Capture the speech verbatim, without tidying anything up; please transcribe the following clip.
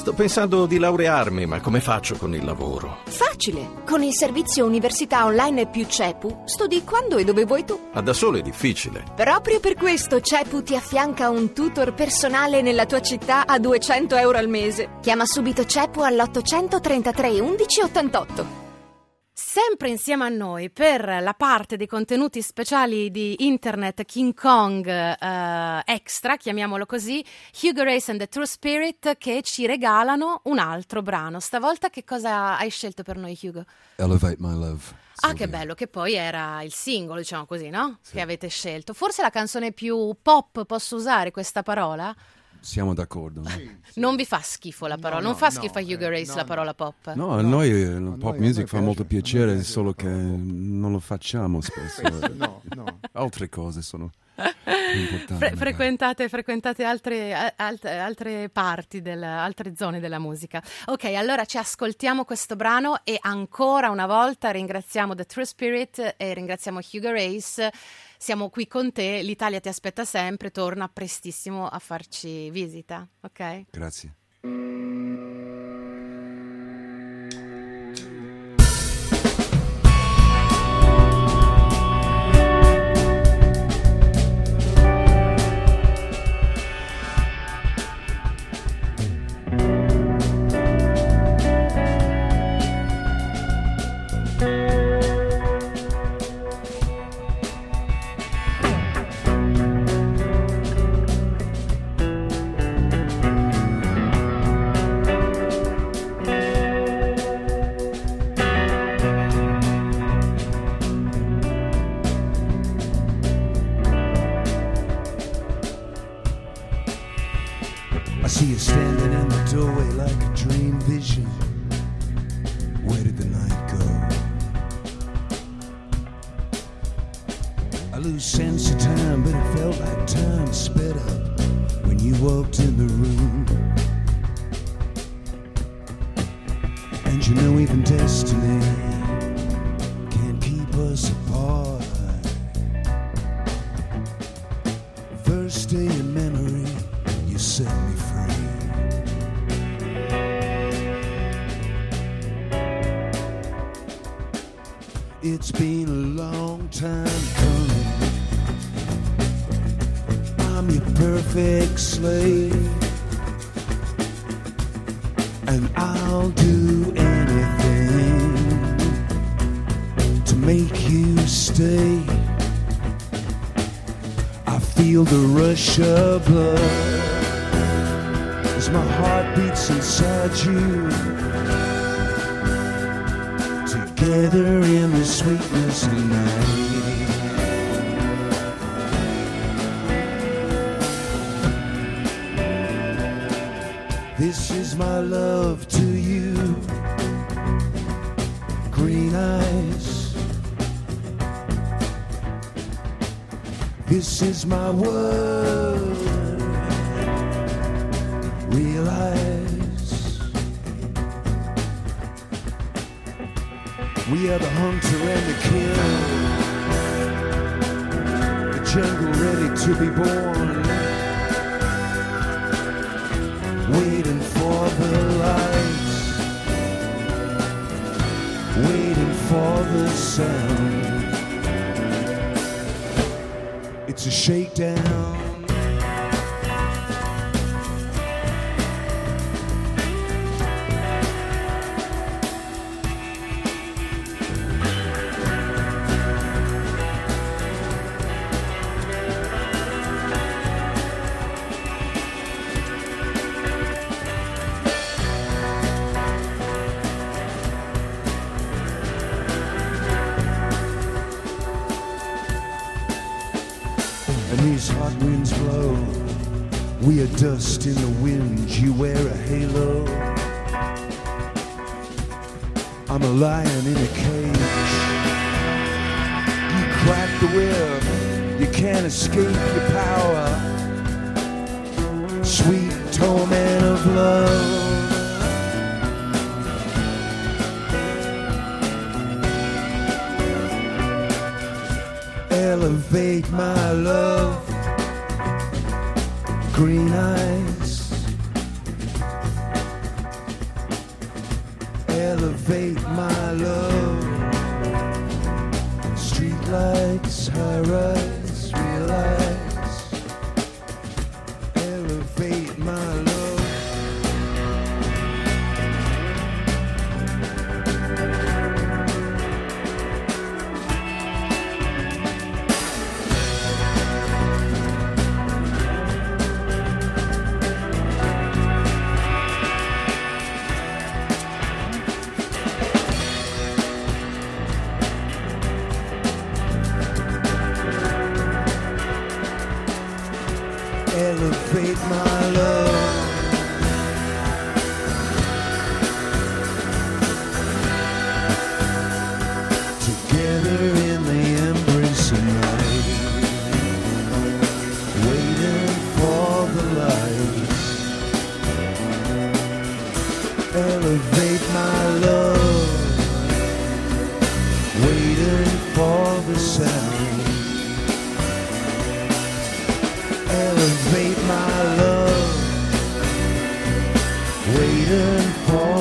Sto pensando di laurearmi, ma come faccio con il lavoro? Facile! Con il servizio Università Online più CEPU studi quando e dove vuoi tu. Ma da solo è difficile. Proprio per questo CEPU ti affianca un tutor personale nella tua città a duecento euro al mese. Chiama subito CEPU all'ottocentotrentatré undici ottantotto. Sempre insieme a noi per la parte dei contenuti speciali di Internet King Kong uh, Extra, chiamiamolo così, Hugo Race and the True Spirit, che ci regalano un altro brano. Stavolta che cosa hai scelto per noi, Hugo? Elevate My Love. Ah, che bello, che poi era il singolo, diciamo così, no? Sì. Che avete scelto. Forse la canzone più pop, posso usare questa parola? Siamo d'accordo. No? Sì, sì. Non vi fa schifo la parola, no, non fa schifo no, a Hugo Race eh, no, la parola pop? No, a noi la no, pop music fa molto piacere, solo che non lo facciamo spesso. no, no. Altre cose sono importanti. Fre- frequentate frequentate altre, altre, altre parti, del, altre zone della musica. Ok, allora ci ascoltiamo questo brano e ancora una volta ringraziamo The True Spirit e ringraziamo Hugo Race. Siamo qui con te, l'Italia ti aspetta sempre, torna prestissimo a farci visita, ok? Grazie. I see you standing in the doorway like a dream vision. Where did the night go? I lose sense of time, but it felt like time sped up when you walked in the room. And you know even destiny can't keep us apart. First day in memory, you set me free. It's been a long time coming. I'm your perfect slave, and I'll do anything to make you stay. I feel the rush of blood as my heart beats inside you, together in the sweetness of night. This is my love to you, green eyes. This is my word, realize. We are the hunter and the kill, the jungle ready to be born, waiting for the lights, waiting for the sound. It's a shakedown. And these hot winds blow. We are dust in the wind. You wear a halo. I'm a lion in a cage. You crack the whip. You can't escape your power. Sweet torment of love. Elevate my love, green eyes. elevate my love. Streetlights, high-rise, realize, elevate my love. Elevate my love. Together in the embrace of night, waiting for the lights. Elevate my love, waiting for the sound. Elevate my love, waiting for